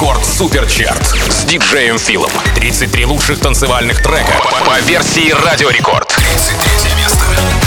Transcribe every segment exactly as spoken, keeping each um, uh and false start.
Рекорд Суперчарт с диджеем Филом. тридцать три лучших танцевальных трека по версии Радио Рекорд. тридцать третье место.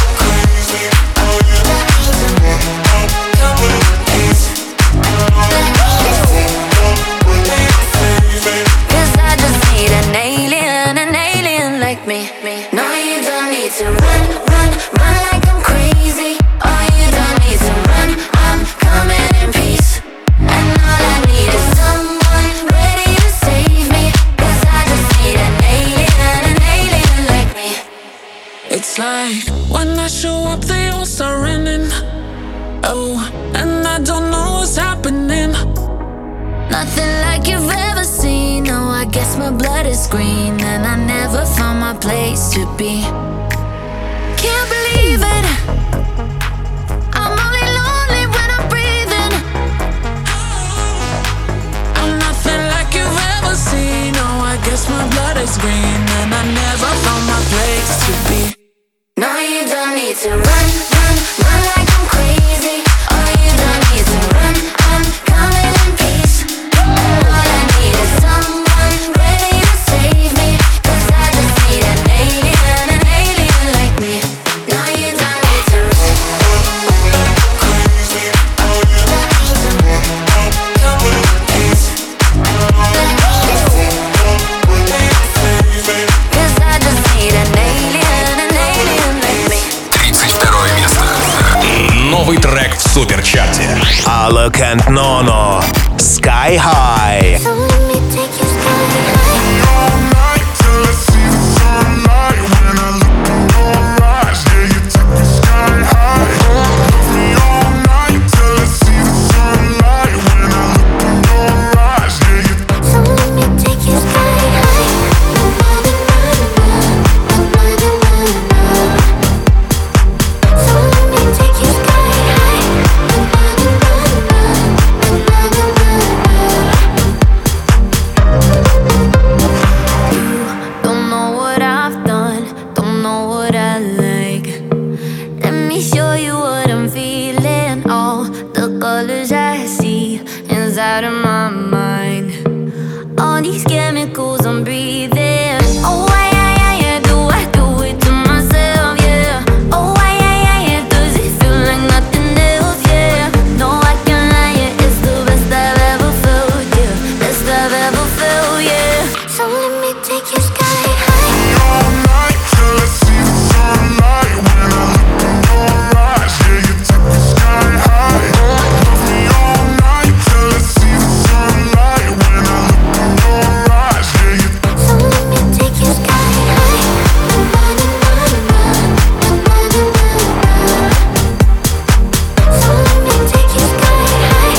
It's like when I show up, they all start running. Oh, and I don't know what's happening. Nothing like you've ever seen. No, I guess my blood is green, and I never found my place to be. Can't believe it. I'm only lonely when I'm breathing. I'm nothing like you've ever seen. No, I guess my blood is green, and I never found my place to be. No, you don't need to run, run, run like I'm crazy. Oh, you don't need to run, I'm coming in peace. All I need is someone ready to save me, 'cause I just need an alien, an alien like me. No, you don't need to run, crazy. Oh, you don't need to run, I'm coming in peace. Cause I just need an alien, an alien like me. тридцать второе место. Новый трек в Суперчарте. Alok and Nono, Sky High. So let me take you sky high. All night till I see the sunlight. When I look in your eyes, yeah, you take me sky high. Love me all night till I see the sunlight. When I look in your eyes, yeah, you. So let me take you sky high. So let me take you sky high. Don't know what I've done, don't know what I like. Let me show you what I'm feeling. All the colors I see inside of my mind. All these chemicals I'm breathing. Oh, why, yeah, yeah, yeah, do I do it to myself, yeah. Oh, why, yeah, yeah, yeah, does it feel like nothing else, yeah. No, I can't lie, yeah, it's the best I've ever felt, yeah. Best I've ever felt, yeah. So let me take you sky high. All night till I see the sunlight. When I look in your eyes, yeah, you take me sky high. Love me all night till I see the sunlight. When I look in your eyes, yeah, you. So let me take you sky high. So let me take you sky high.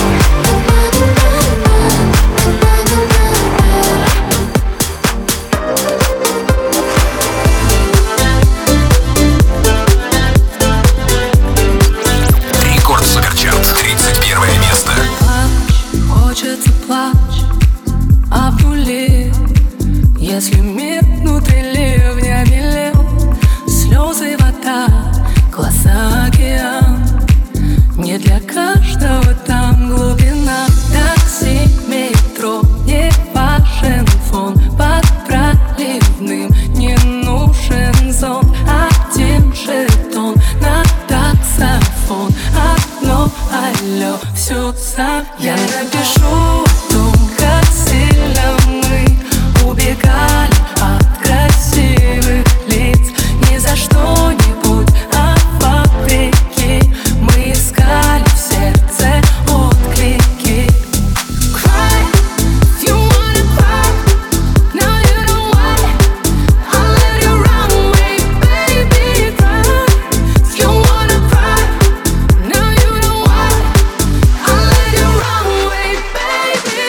Рекорд Суперчарт. тридцать первое место. Плачь, хочется плачь, а в нуле, если мир внутри ливня белел, слезы, вода, глаза, океан. Не для каждого там глубина. Такси, метро, не важен фон. Под проливным не нужен зонт. Один жетон на таксофон. Одно алло, все сам я напишу. Том, как сильно мы убегали от красивых лиц. Не за что-нибудь, а вопреки. Мы искали в сердце отклики. Cry, if you wanna cry. Now you know why. I'll let you run away, baby, cry. If you wanna cry. Now you know why. I'll let you run away, baby.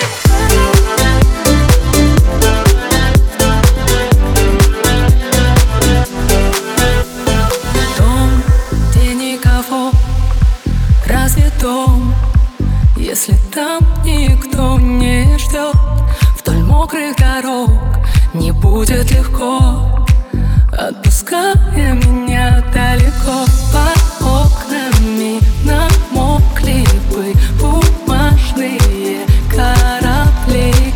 Дом, где никого, разве дом, если там никто не ждет? Вдоль мокрых дорог не будет легко, отпуская меня далеко. Под окнами намокли бы бумажные корабли.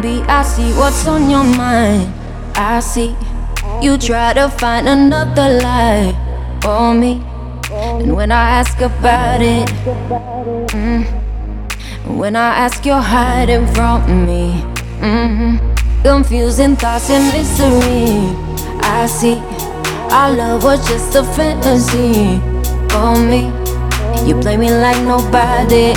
baby, I see what's on your mind. I see you try to find another lie for me. And when I ask about it, mm, when I ask, you're hiding from me. mm, Confusing thoughts and mystery. I see our love was just a fantasy for me. You play me like nobody.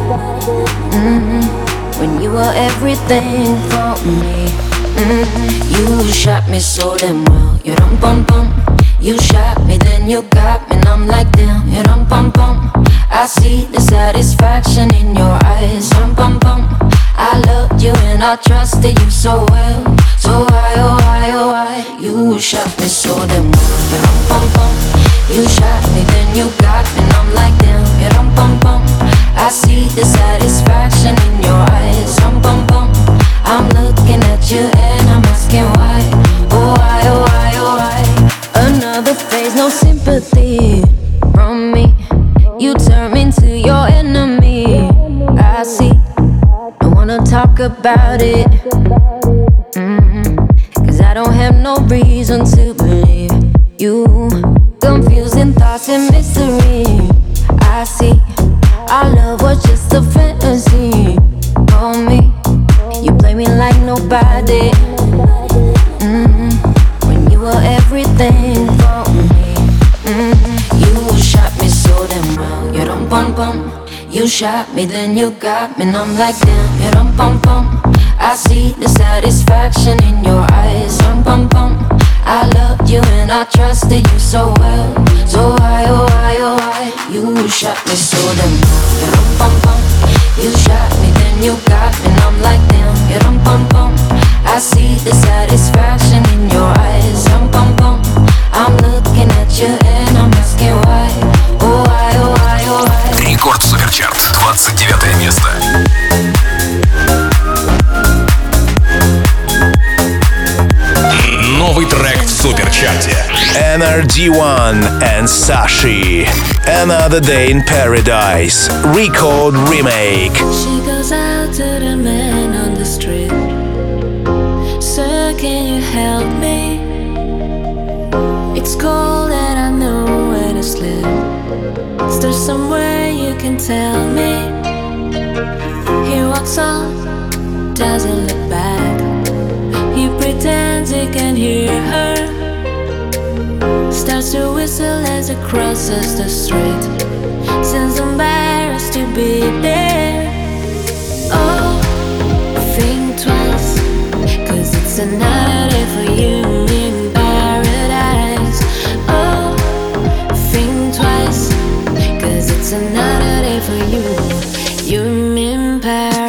mm, When you were everything for me. mm, You shot me so damn well. You dum bum bum. You shot me, then you got me, and I'm like damn. You dum bum bum. I see the satisfaction in your eyes. Dum bum bum. I loved you and I trusted you so well. So why, oh why, oh why? You shot me so damn well. You dum bum bum. You shot me, then you got me, and I'm like damn. You dum bum bum. I see the satisfaction in your eyes. Dum bum bum. I'm looking at you and I'm asking why. Oh why, oh why, oh why? Another phase, no sympathy from me. You turn me into your enemy. I see. I wanna talk about it. mm-hmm. Cause I don't have no reason to believe you. Confusing thoughts and mystery. I see. Our love was just a fantasy for me. You play me like nobody. mm-hmm. When you were everything for me. mm-hmm. You shot me so damn well. You dum bum bum. You shot me, then you got me, and I'm like damn. You dum bum bum. I see the satisfaction in your eyes. Dum bum bum. I loved you and I trusted you so well. So why, oh why, oh why? You shot me so damn well. You dum bum bum. You shot me, then you got me, and I'm like damn. You dum bum bum. I see the satisfaction in your eyes. Dum bum bum. I'm looking at you and I'm asking why. Oh why, oh why, oh why? Рекорд Суперчарт, двадцать девятое место. Новый трек в Суперчарте. Energy One and Sashi. Another Day in Paradise. Record remake. She goes out to the man on the street. Sir, can you help me? It's cold and I know where to sleep. Is there somewhere you can tell me? He walks on, doesn't look back. He pretends he can hear her. Starts to whistle as he crosses the street. Seems embarrassed to be there. Oh, think twice, cause it's another day for you in paradise. Oh, think twice, cause it's another day for you. You're in paradise.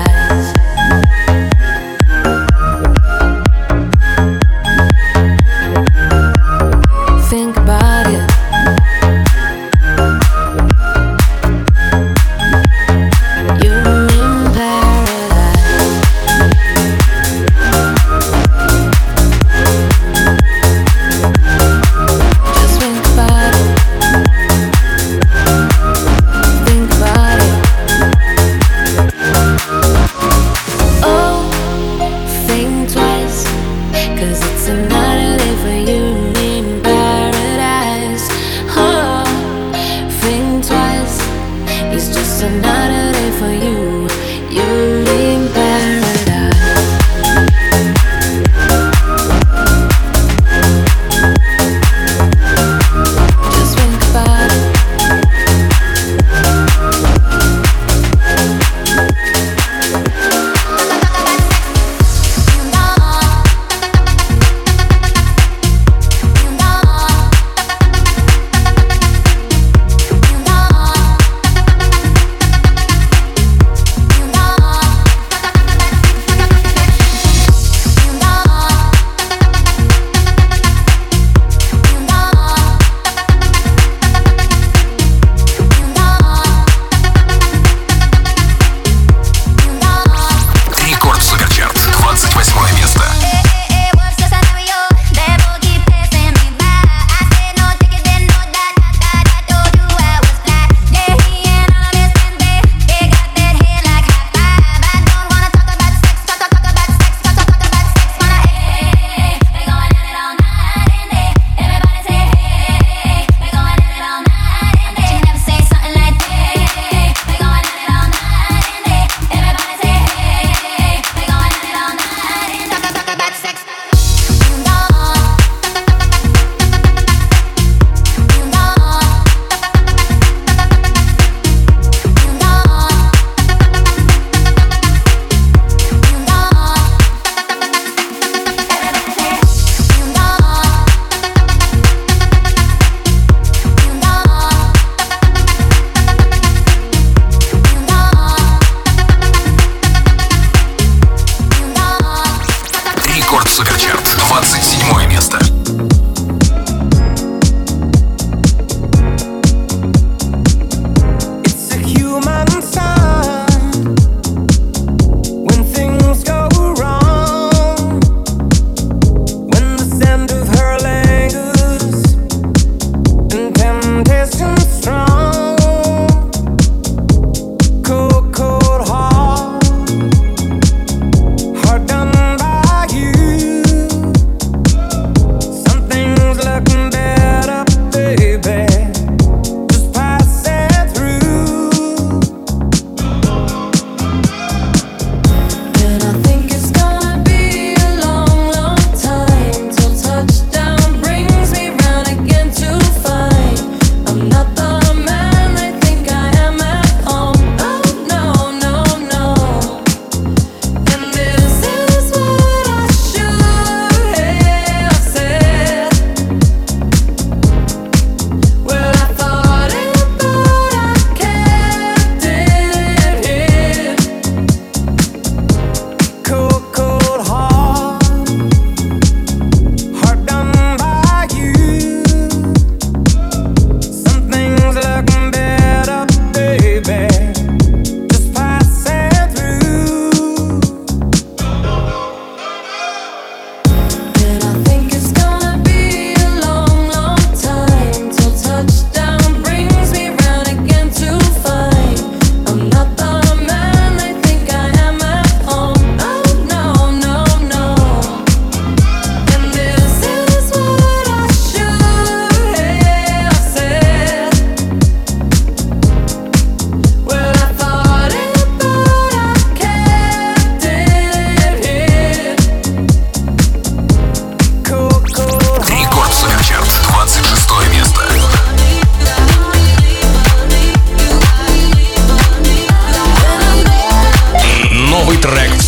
Think about it. You're in paradise.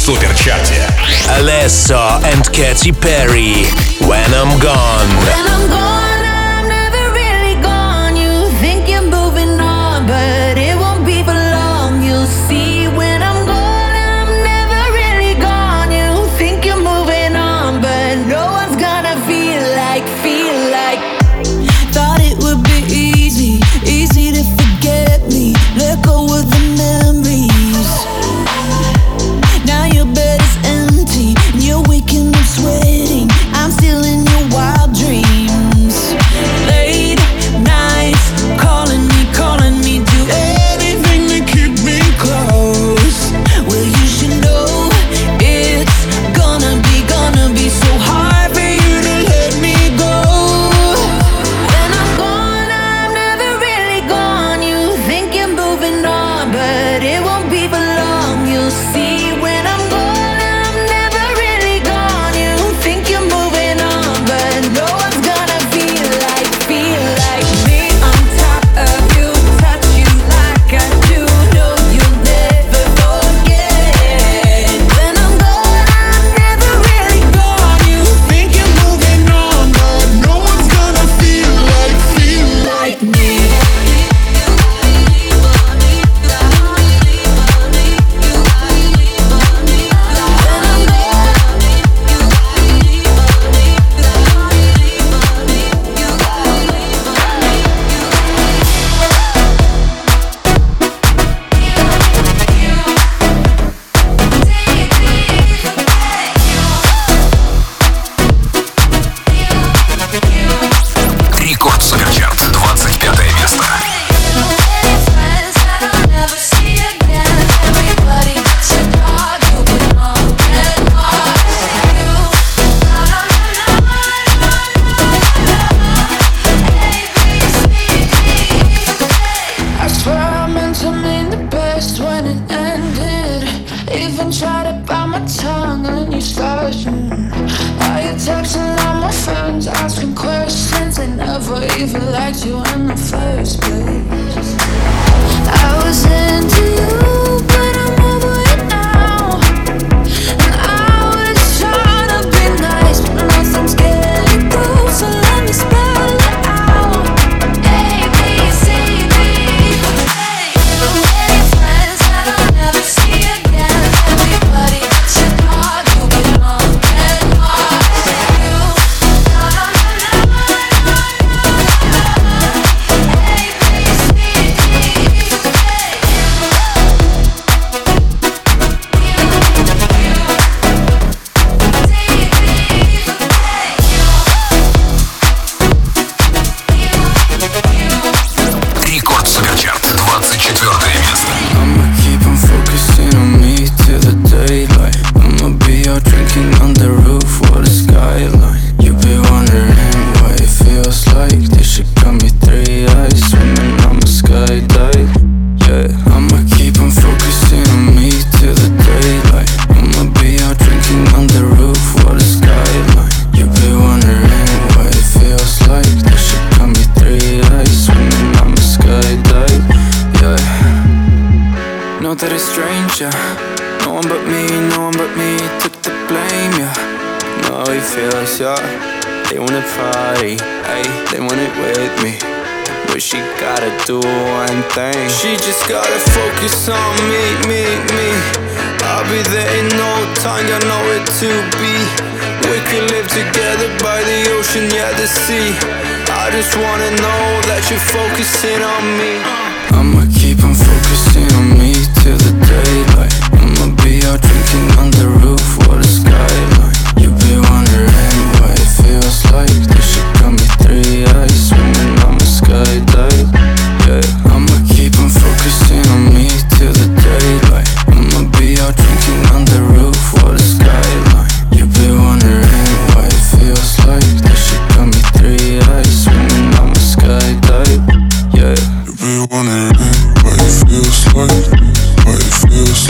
суперчарте. Alesso and Katy Perry, When I'm Gone. When I'm gone, I'm never really gone. You think you're moving on, but it won't be for long. You'll see when I'm gone, I'm never really gone. You think you're moving on, but no one's gonna feel like, feel like. Thought it would be easy, easy to forget me. Let go of the memories. Now your bed is empty, and you're waking up sweating. I'm still in your wild dreams. Late nights, calling me, calling me, do anything to keep me close. Well, you should know it's gonna be, gonna be so hard for you to let me go. When I'm gone, I'm never really gone. You think you're moving on, but it won't be for long. You'll see when I'm gone, I'm never really gone. You think you're moving on, but no one's gonna feel like, feel like me. On top of you, touch you like I do. Know you'll never forget. When I'm gone, I'm never really gone. You think you're moving on, but no one's gonna feel like, feel like me. Рекорд Суперчарт, двадцать пятое место. I swear I meant to mean the best when it ended. Even tried to bite my tongue and you started. Now you're texting all my friends, asking questions. They never even liked you in the first place. I was into you, but I'm over it now. And I was trying to be nice, but nothing's getting through. So let me spell it out. A, B, C, D. Friends that I'll never see again. Everybody that you thought you belong and lost you. No, no, no, no, no, no. A, B, C, D. Рекорд Суперчарт, двадцать четвертое место. I'ma keep on focusing on me till the daylight. I'ma be out drinking on the roof with the skyline. You be wondering what it feels like. This shit got me three eyes, swimming on my skydive. Yeah, I'ma keep on focusing on me till the daylight. I'ma be out drinking on the roof with the skyline. You be wondering what it feels like. This shit got me three eyes, swimming on my skydive. Yeah. Know that it's strange, yeah. No one but me, no one but me took the blame, yeah. Know how it feels, yeah. They wanna party, ayy, they want it with me. But she gotta do one thing. She just gotta focus on me, me, me. I'll be there in no time, got nowhere to be. We could live together by the ocean, yeah, the sea. I just wanna know that you're focusing on me. I'ma keep on focusing on me till the daylight. I'ma be out drinking on the roof with the skyline. You be wondering what it feels like. This shit got me three eyes, swimming on my skydive. Yeah, I'ma keep on focusing on me till the daylight. I'ma be out drinking on the roof with the skyline. You be wondering what it feels like. This shit got me three eyes, swimming on my skydive. Yeah. You be wondering what it feels like, what it feels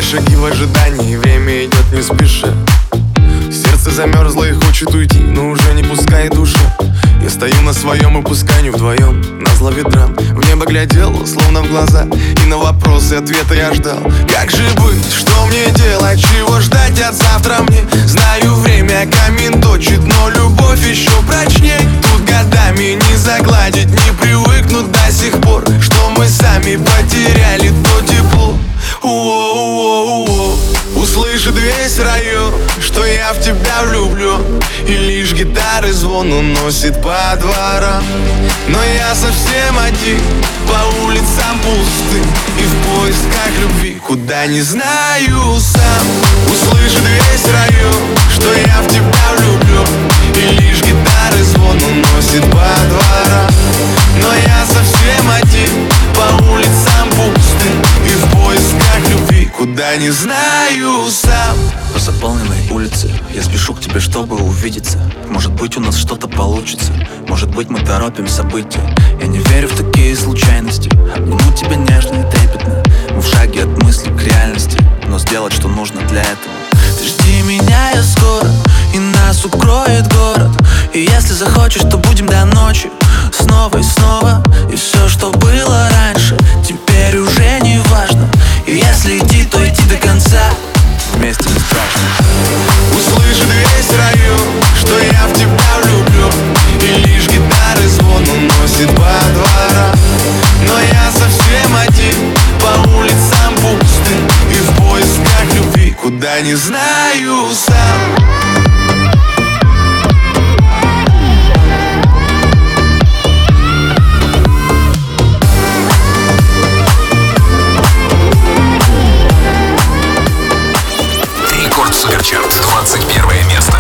шаги в ожидании, время идет не спеша. Сердце замерзло и хочет уйти, но уже не пускай душа. Я стою на своем и пусканию вдвоем, назло ветрам. В небо глядел, словно в глаза, и на вопросы ответа я ждал. Как же быть, что мне делать, чего ждать от завтра мне? Знаю, время камин точит, но любовь еще прочней. Тут годами не загладить, не привыкнуть до сих пор, что мы сами потеряли то тепло. Уоу-уоу-уоу. Услышит весь район, что я в тебя влюблен, и лишь гитары звон уносит по дворам. Но я совсем один, по улицам пустым, и в поисках любви, куда не знаю сам. Услышит весь район, что я в тебя влюблен, и лишь гитары звон уносит по дворам. Но я совсем один, по улицам пустым, и в поисках любви, куда не знаю сам. По заполненной улице я спешу к тебе, чтобы увидеться. Может быть, у нас что-то получится, может быть, мы торопим события. Я не верю в такие случайности, обниму тебя нежно и трепетно. Мы в шаге от мысли к реальности, но сделать, что нужно для этого. Ты жди меня, я скоро, и нас укроет город. И если захочешь, то будем до ночи, снова и снова. И все, что было раньше, теперь уже не важно. И если идти, то идти до конца, вместе не страшно. Услышит весь район, что я в тебя влюблен, и лишь гитары звон уносит по дворам. Но я совсем один, по улицам пустым, и в поисках любви, куда не знаю сам. Рекорд Суперчарт, двадцать первое место.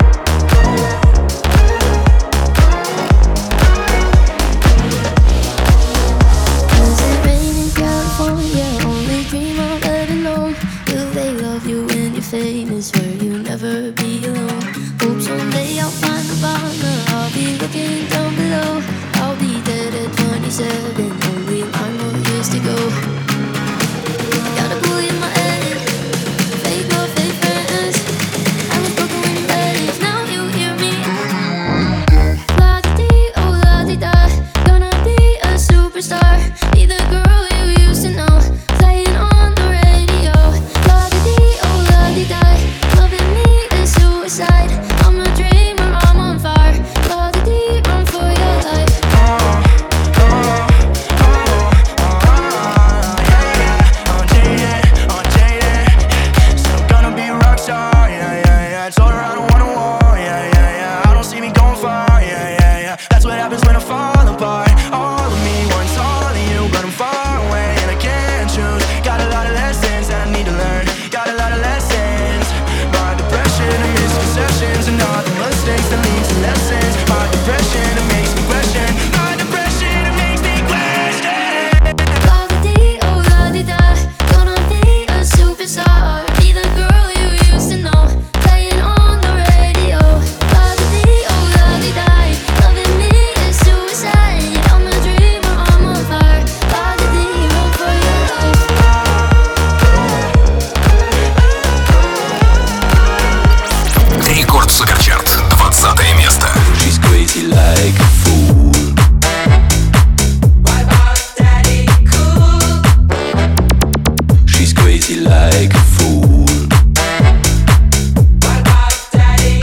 Does it rain in California? Only dream of heaven alone. Will they love you when you're famous? Where you never be alone. Hope someday I'll find the partner. I'll be looking down below. I'll be dead at twenty-seven. Only nine more years to go. Gotta pull you in my head. Fake love, fake friends. I was broken when you left. Now you hear me. La-di-dee, oh la-di-da. Gonna be a superstar. Be the girl you used to know. Playing on the radio. La-di-dee, oh la-di-da. Loving me is suicide. I'm a dreamer, I'm on fire. La-di-dee, run for your life. La-di-dee, oh la-di-da. Gonna be a superstar. Be the girl you used to know. Playing on the radio. La-di-dee, oh la-di-da. Loving me is suicide. I'm a dreamer, I'm on fire. La-di-dee, run for your life. Рекорд Суперчарт, двадцатое место. She's crazy like a fool. She's crazy like a fool. Daddy,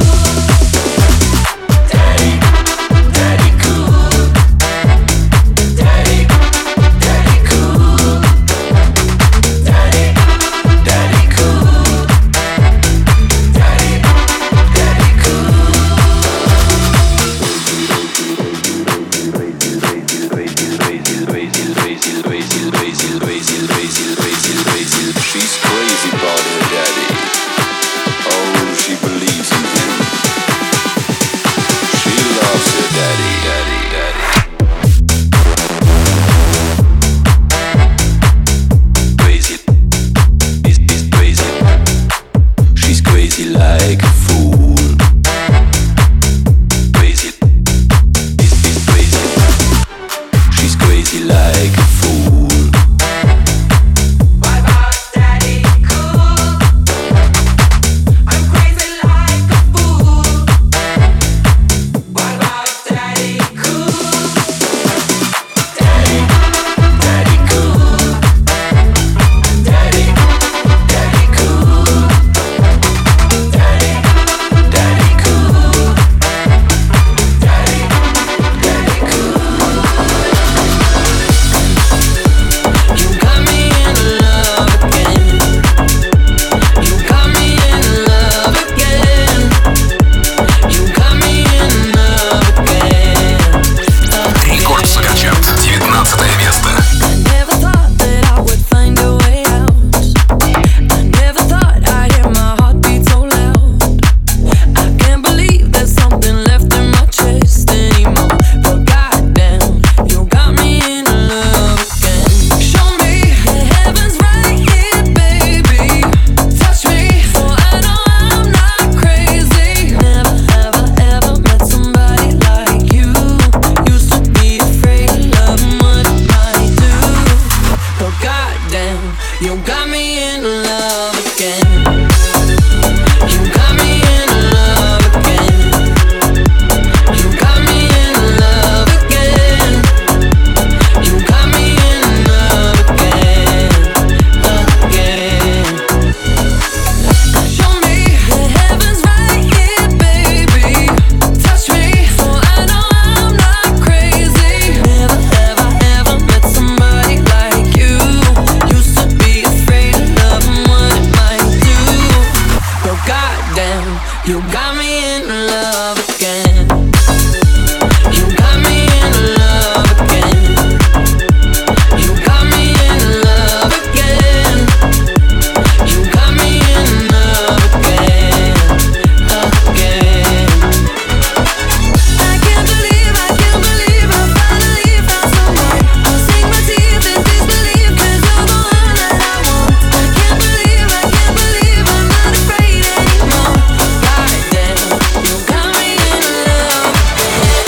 daddy cool. Daddy, daddy cool. Daddy, daddy cool. Daddy, daddy cool. She's crazy. You got me in love again. You got me in love again. You got me in love again. You got me in love again, again. Show me the heavens right here, baby. Touch me so I know I'm not crazy. Never ever ever met somebody like you. Used to be afraid of love and what it might do. But goddamn, you got me in love again. You got me in love again. You got me in love again. You got me in love again, again. I can't believe, I can't believe I finally found someone. I'll sink my teeth in disbelief 'cause you're the one that I want. I can't believe, I can't believe I'm not afraid anymore. Goddamn, you got me in love again.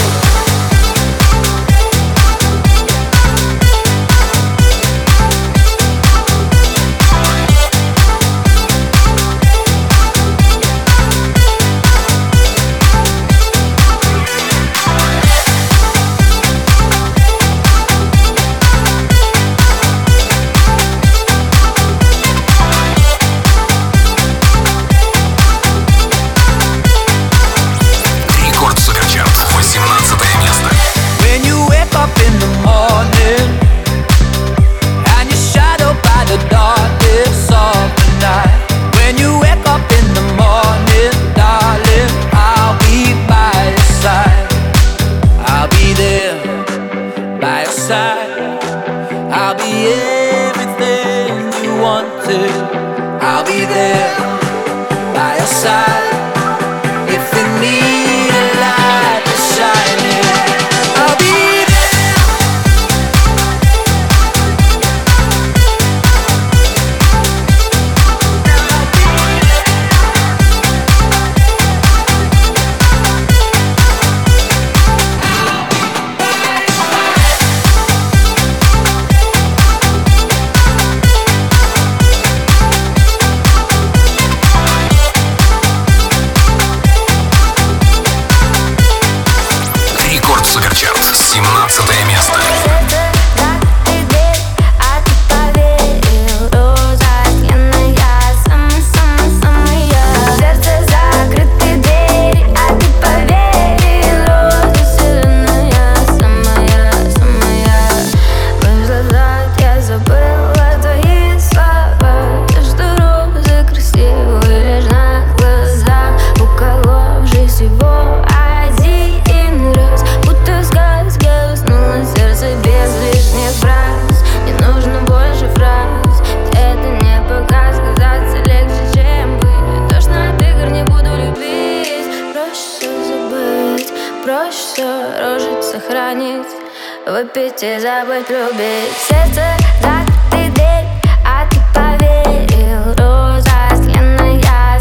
Рекорд Суперчарт, восемнадцатое место. When you wake up in the morning and you're shadowed by the darkness of the night. When you wake up in the morning, darling, I'll be by your side. I'll be there by your side. I'll be everything you wanted. I'll be there by your side. If you need a light to shine in, I'll be there. Рекорд Суперчарт, семнадцатое место. Выпить и забыть, любить. Сердце закрытый дверь, а ты поверил. Роза сленная,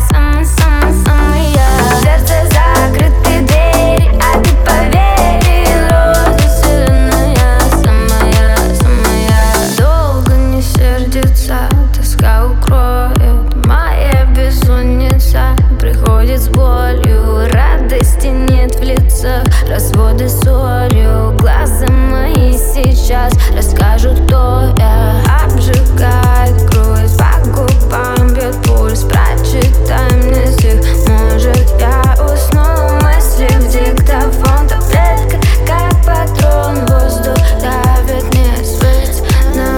самая-самая. Сердце закрытый дверь, а ты поверил. Роза сленная, самая-самая. Долго не сердится, тоска укроет. Моя бессонница приходит с болью. Радости нет в лицах, разводы солью. Глаза мои сейчас расскажут, кто я. Обжигает кровь, по губам бьет пульс. Прочитай мне стих, может я усну. Мысли в диктофон, таблетка как патрон. Воздух давит, мне свет на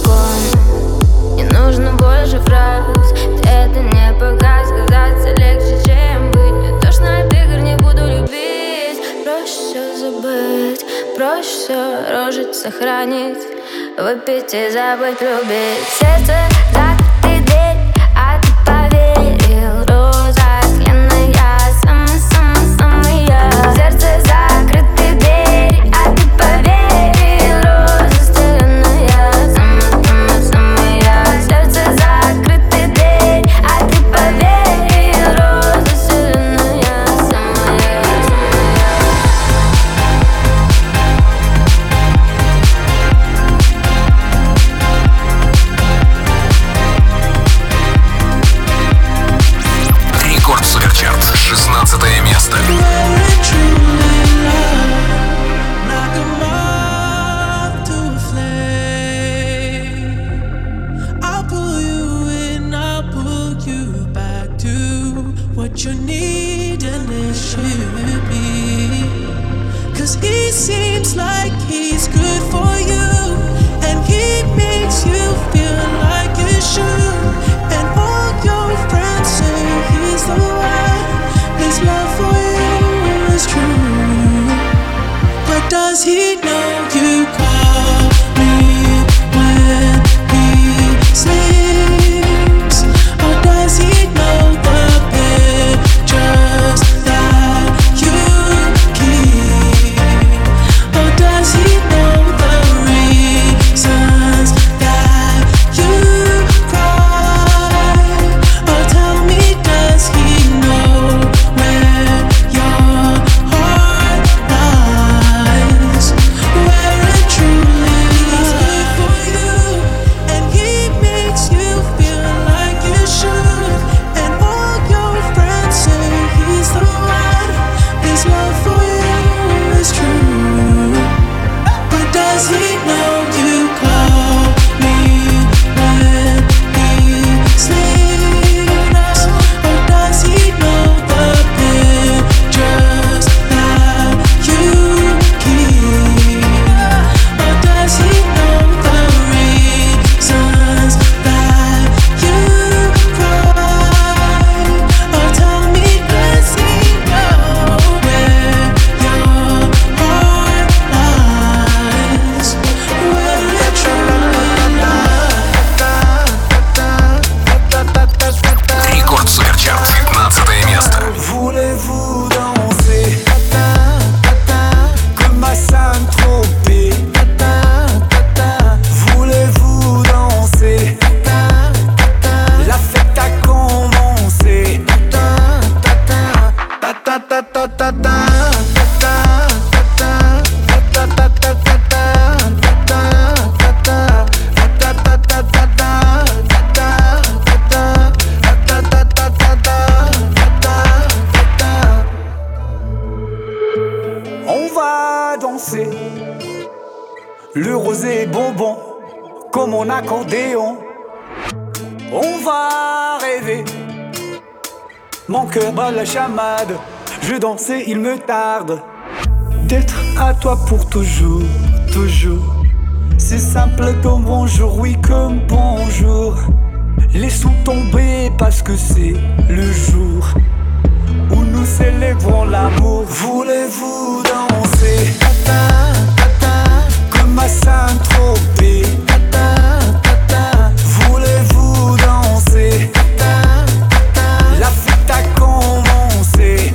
балкон. Не нужно больше фраз, это не пока. Сказаться легче, чем быть. Мне тошно от игр, не буду любить. Проще все забыть, проще все рожить, сохранить. Выпить и забыть, любить. Сердце закрытый дверь, а ты поверил. Роза сленная, самая-самая. Сердце закрытый дверь, а ты поверил. Роза сленная, самая-самая. Сердце закрытый дверь, а ты поверил. Роза сленная, самая-самая. what you need and it should be. Cause he seems like he's good for you, and he makes you feel like you should. And all your friends say he's the one. His love for you is true. But does he know you call me when he sleeps? Or does he know the pictures that you keep? Or does he know the reasons that you cry? Or tell me, does he know where your heart lies? Where it truly is good for you, and he makes you feel like you should. And all your friends say he's the one. His love for you is true. But does he know you call me when he sleeps? Or does he know the pictures that you keep? Or does he know the reasons that you cry? Or tell me, does he know where your heart lies? Where it truly Рекорд Суперчарт, пятнадцатое место. Voulez-vous danser comme à Saint-Tropez? Voulez-vous danser? La fête a commencé. On va danser le rosé bonbon comme mon accordéon. On va rêver, mon cœur bat la chamade. Je danse et il me tarde d'être à toi pour toujours, toujours. C'est simple comme bonjour, oui comme bonjour. Laissons tomber parce que c'est le jour où nous célébrons l'amour. Voulez-vous danser comme à Saint-Tropez? Voulez-vous danser? La fête a commencé.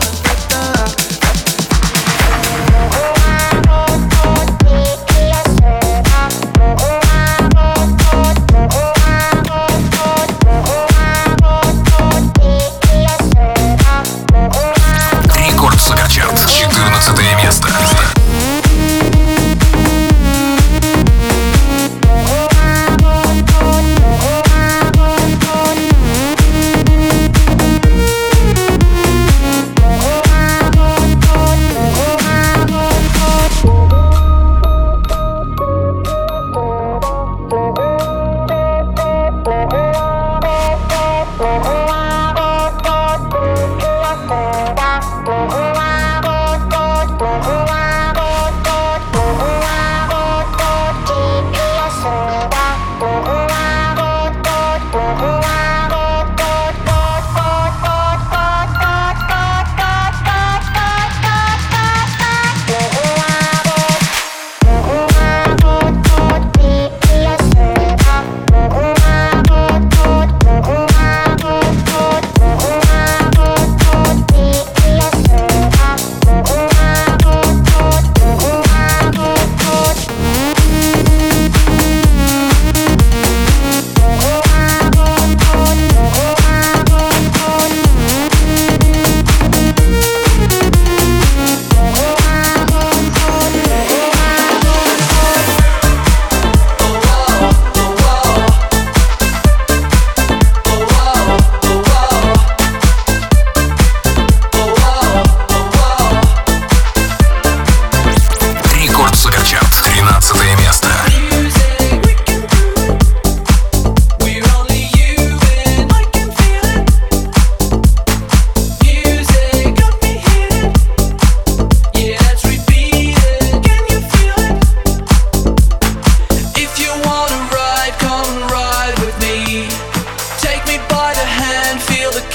Yes, sir.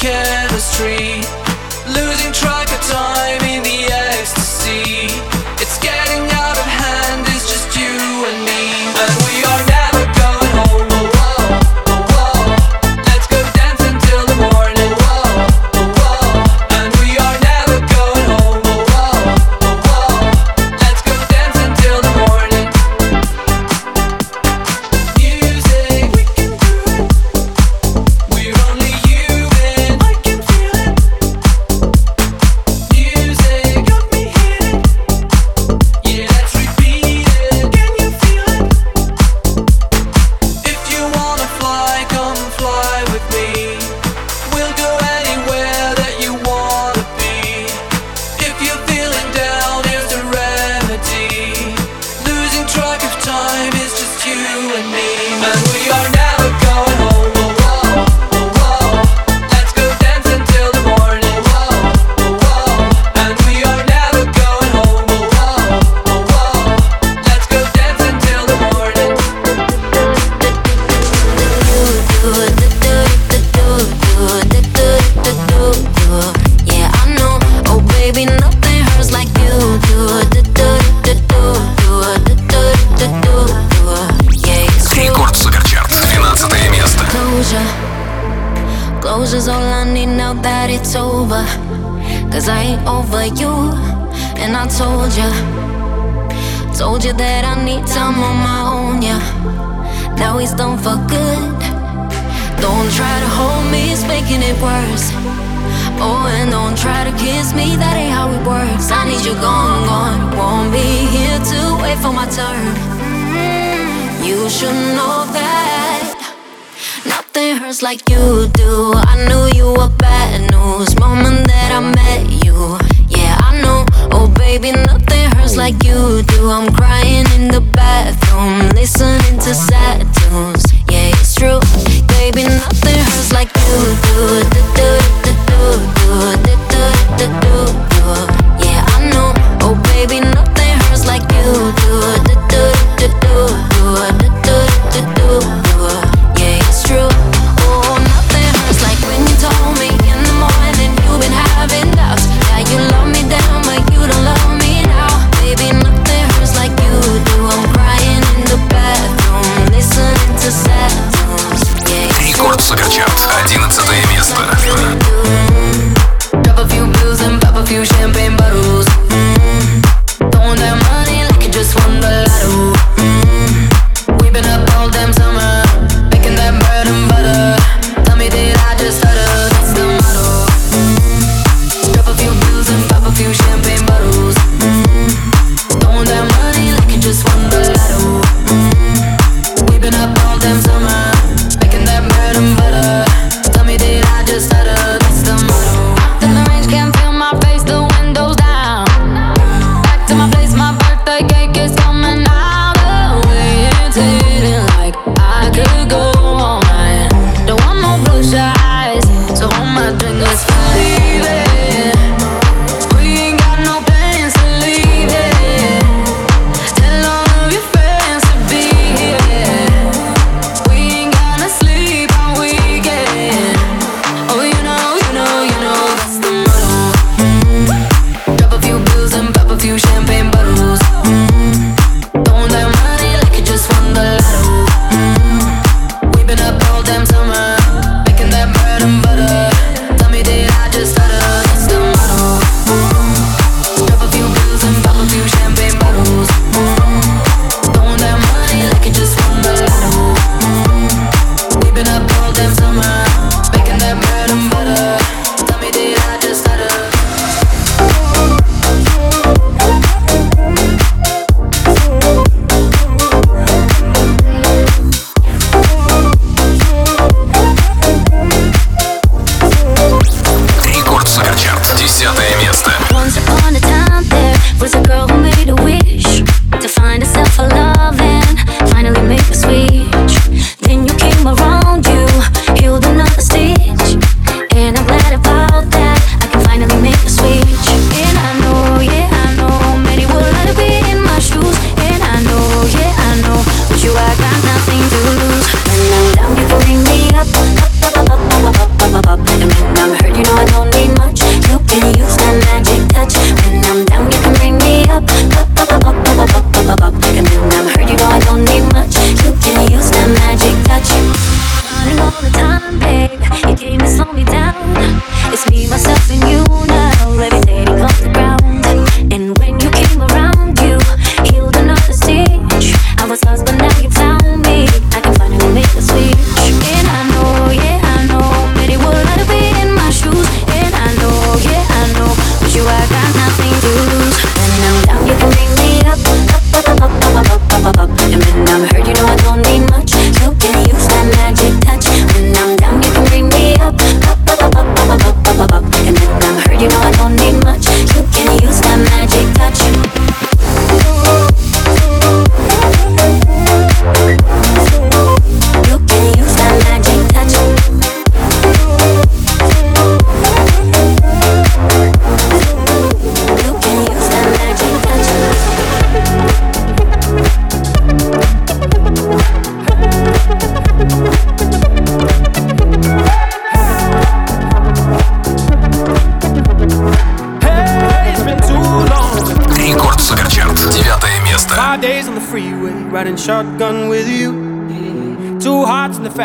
chemistry, losing track of time in the ecstasy. It's getting out of hand, it's just you and me, and we are never going home. Oh, oh, oh, oh. Let's go dance until the morning. Oh, oh, oh. And we are never going home. Oh, oh, oh, oh. Let's go dance until the morning. Music, we can do it. We're only human. I can feel it. Music got me hitting. Yeah, let's repeat it. Can you feel it? If you wanna fly, come fly with me. We'll go anywhere that you wanna be. If you're feeling down, here's the remedy. Losing track of time is just you and me, and we are never going home. Oh, oh, oh, oh. Let's go dance until the morning. Oh, oh, oh. And we are never going home. Oh, oh, oh, oh. Let's go dance until the morning. Yeah, I know. Oh, baby, nothing hurts like you do. Yeah, it's true. Рекорд Суперчарт, двенадцатое место. Closure, closure's all I need now that it's over. Cause I ain't over you, and I told ya, told you that I need time on my own, yeah. Now he's done for good. Don't try to hold me, it's making it worse. Oh, and don't try to kiss me, that ain't how it works. I need you gone, gone. Won't be here to wait for my turn. You should know that nothing hurts like you do. I knew you were bad news moment that I met you. Yeah, I know. Oh, baby, nothing hurts like you do. I'm crying in the bathroom, listening to sad tunes. Yeah, it's true. Baby, nothing hurts like you do. Yeah, I know. Oh, baby, nothing hurts like you do. Yeah, it's true. Oh, nothing hurts like when you told me in the morning you've been having doubts. Yeah, you love me down, but you don't love me now. Baby, nothing hurts like you do. I'm crying in the bathroom, listening to sad tunes. Yeah, it's true. Рекорд Суперчарт, одиннадцатое место. Drop a few pills and pop a few champagne bottles. Mm-hmm. Throwing that money like you just won the lotto. Mm-hmm. We've been up all damn summer, making that bread and butter. Tell me did I just stutter? That's the motto. Mm-hmm. Drop a few pills and pop a few champagne bottles. Mm-hmm. Throwing that money like you just won the lotto. Mm-hmm. We've been up all damn summer, making that bread and butter. Tell me did I just stutter? That's the motto.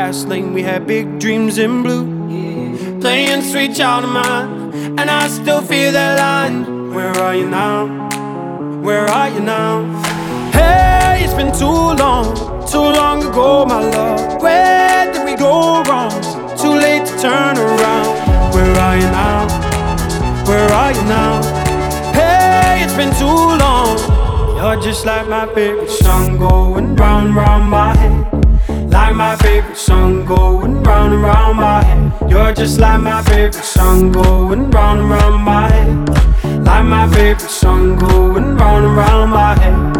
fast lane. We had big dreams in blue, playing sweet child of mine, and I still feel that line. Where are you now? Where are you now? Hey, it's been too long, too long ago, my love. Where did we go wrong? Too late to turn around. Where are you now? Where are you now? Hey, it's been too long. You're just like my favorite song going round, round my head. Like my favorite song going round and round my head. You're just like my favorite song going round and round my head. Like my favorite song going round and round my head.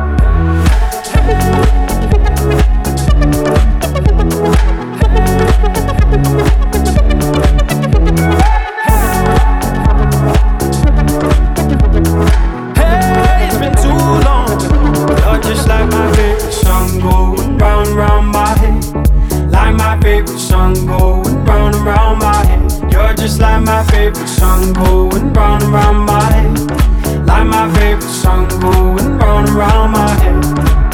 Hey, it's been too long. You're just like my favorite song going round and round my head. Like my favorite song going round and round my head. You're just like my favorite song going round and round my head. Like my favorite song going round and round my head.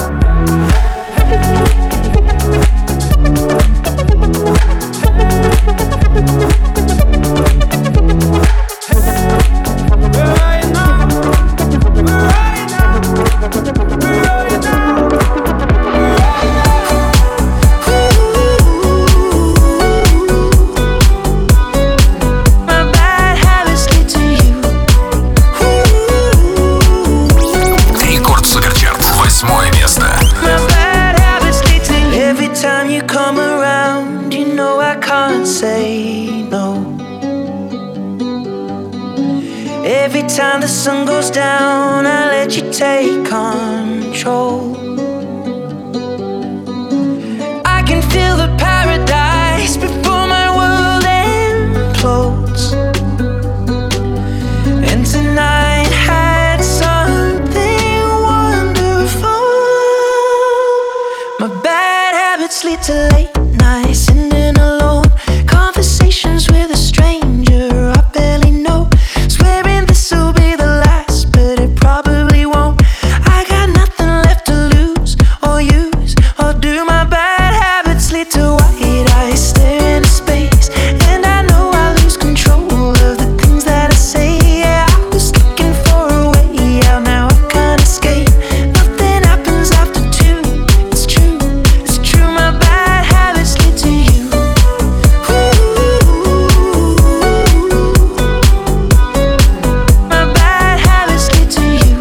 Every time the sun goes down, I let you take control. I can feel the paradise before my world implodes. And tonight had something wonderful. My bad habits lead to late nights, sitting alone, conversations with a stranger I barely know. Swearing this'll be the last, but it probably won't. I got nothing left to lose or use or do. My bad habits lead to white eyes stare into space, and I know I lose control of the things that I say. Yeah, I was looking for a way out, now I can't escape. Nothing happens after two. It's true, it's true. My bad habits lead to you. My bad habits lead to you.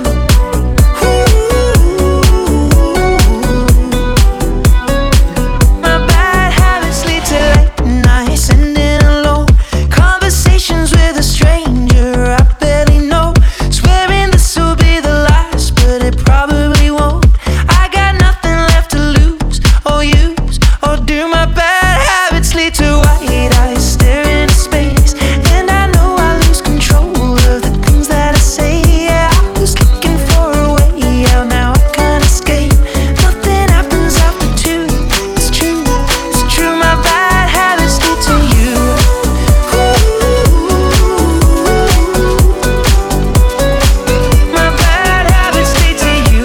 My bad habits lead to late nights, ending alone, conversations with a stranger I barely know. Swearing this'll be the last, but it probably won't. I got nothing left to lose or use or do. My bad habits lead to white eyes staring into space, and I know I lose control of the things that I say. Yeah, I was looking for a way out, now I can't escape. Nothing happens after two. It's true, it's true. My bad habits lead to you. My bad habits lead to you.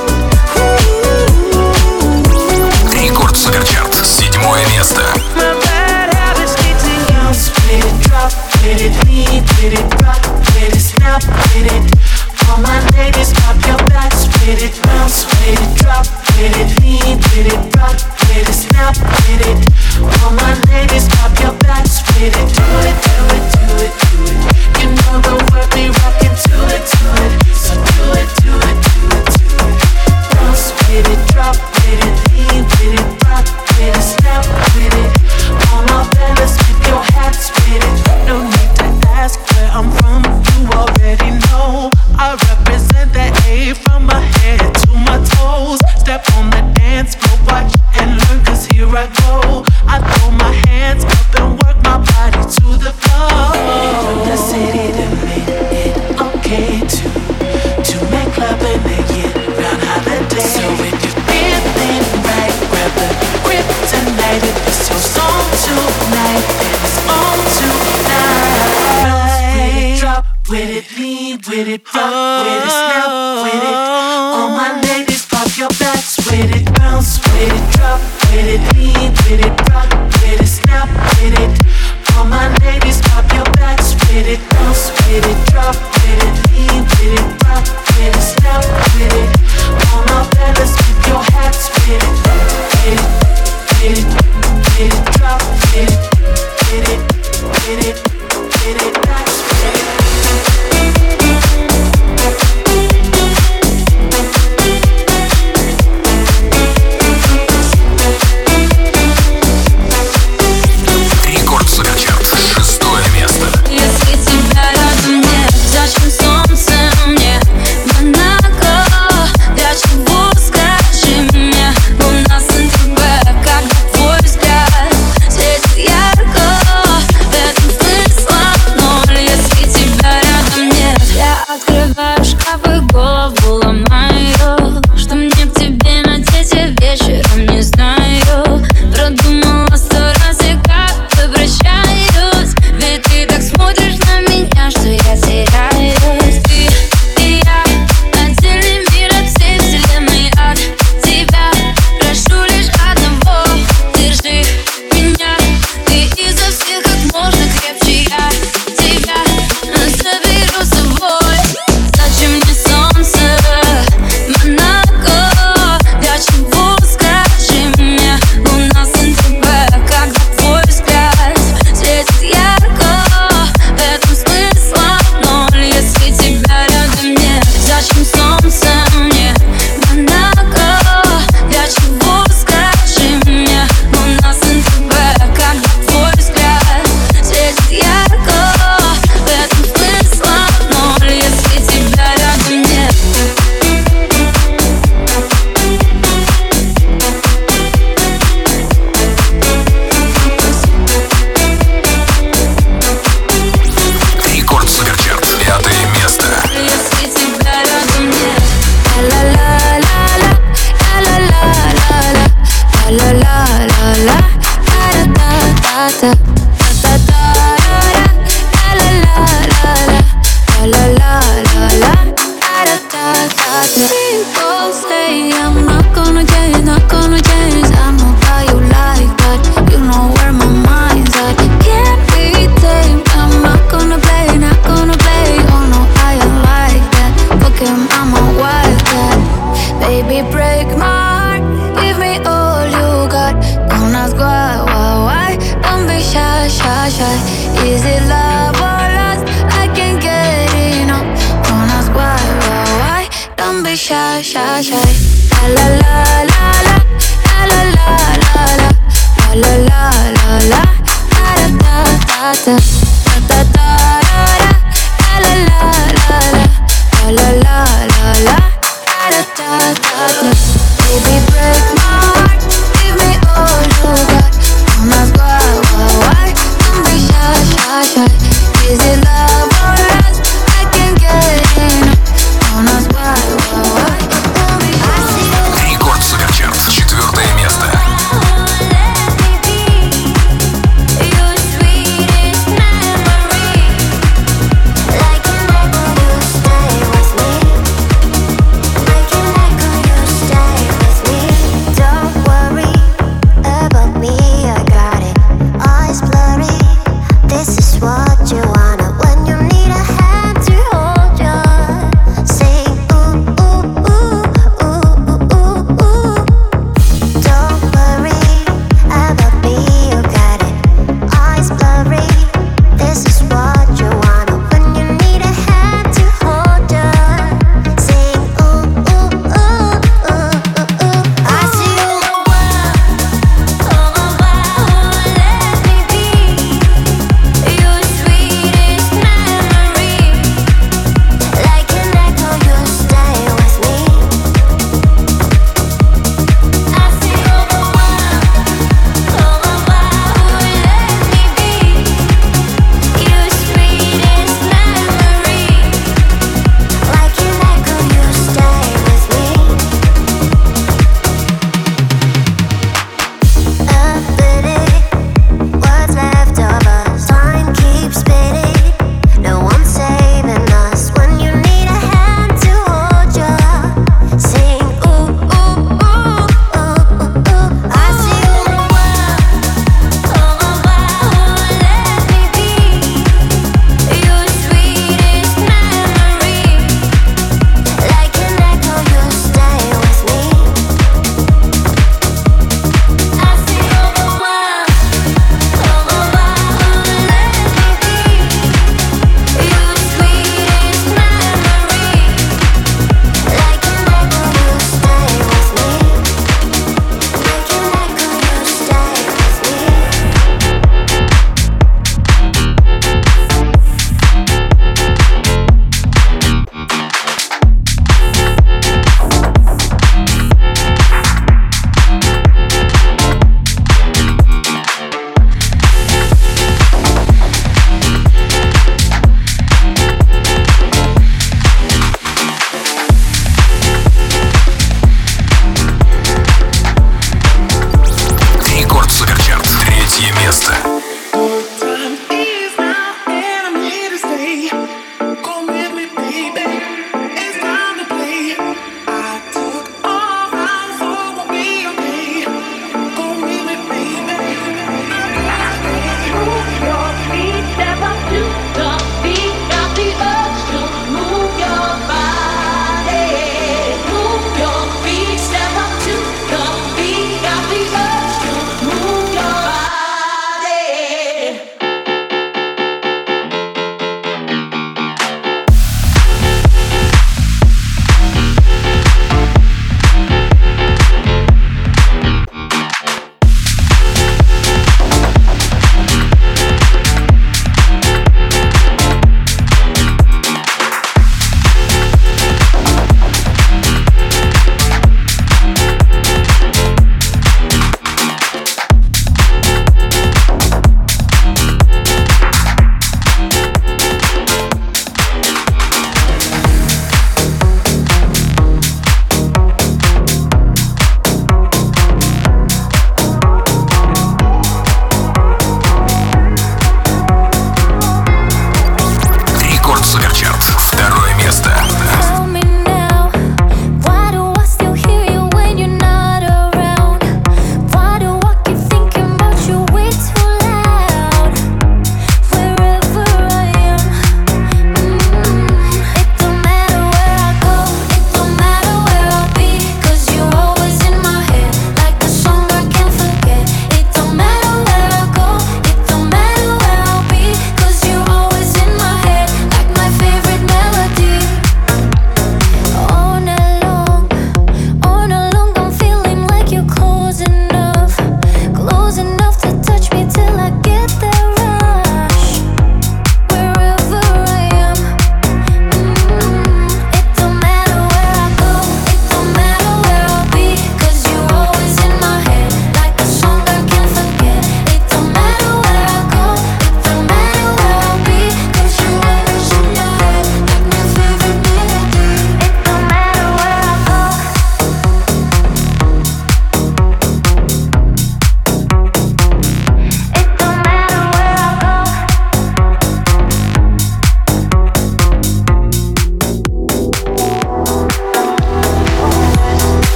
Рекорд Суперчарт, седьмое место. My bad habits lead to you. Split it, drop, split it, lean, split it, rock, split it, snap, split it. All my ladies, pop your back, split it, bounce, split it, drop, split it, lean, split it, rock, split it, snap, split it. All my ladies, pop your back, split it, do it, do it, do it, do it. You know the word, be rockin' to it, to it. So do it, do it, do it, do it. Bounce, split it, drop, split it, lean, split it, rock, split it, snap, split it. All my fellas, keep your hands split it. No need to ask where I'm from, you already know. I represent the A from my head to my toes. Step on the dance floor, watch and learn, cause here I go. I throw my hands up and work my body to the floor. From the city that made it okay to to make club in the year-round holiday. So if you're feeling right, grab the grip tonight. If it's your song tonight, then it's on tonight. With it, drop with it, lean with it, rock with it, snap with it. All my ladies, pop your backs with it, bounce with it, drop with it, lean with it, rock ta ta ta la la la la la la la la la da da da da. People say I'm not gonna change, not gonna change. I know how you like that. You know where my mind's at. Can't be tamed. I'm not gonna play, not gonna play. Oh no, I am like that. Fuck him, I'm a wildcat. Baby, break my heart. Give me all you got. Don't ask why, why, why. Don't be shy, shy, shy. Is it love or lust? I can't get enough. Don't ask why, why, why. Don't be shy, shy, shy. La la la la la la la la la la la la la la da da da da da da da la la la la la la la la da da da da. Baby, break my heart, give me all you got. Don't ask why, why, why. Don't be shy, shy, shy. Is it love or lust? I can't get enough. Don't ask why, why, why. Don't be shy. Рекорд Суперчарт, четвертое место. Your sweetest night.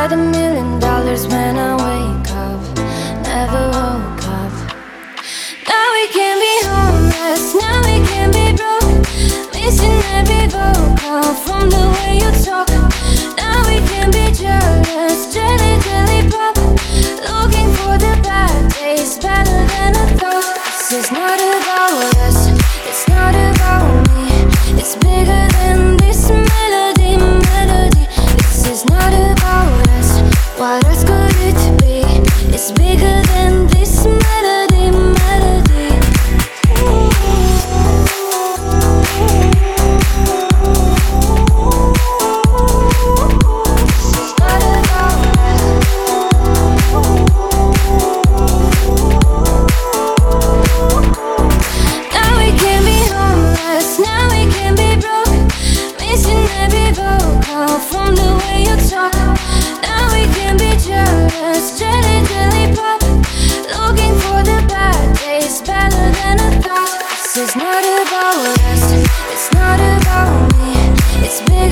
got a million dollars when I wake up. Never woke up. Now we can be homeless, now we can be broke. Missing every vocal from the way you talk. Now we can be jealous, jelly, jelly pop. Looking for the bad days, better than I thought. This is not about us, it's not about me. It's bigger than this melody, melody. This is not about us, what else could it be? It's bigger than this melody, melody. From the way you talk, now we can be jealous, jelly, jelly pop. Looking for the bad days, better than I thought. This is not about us, it's not about me. It's big.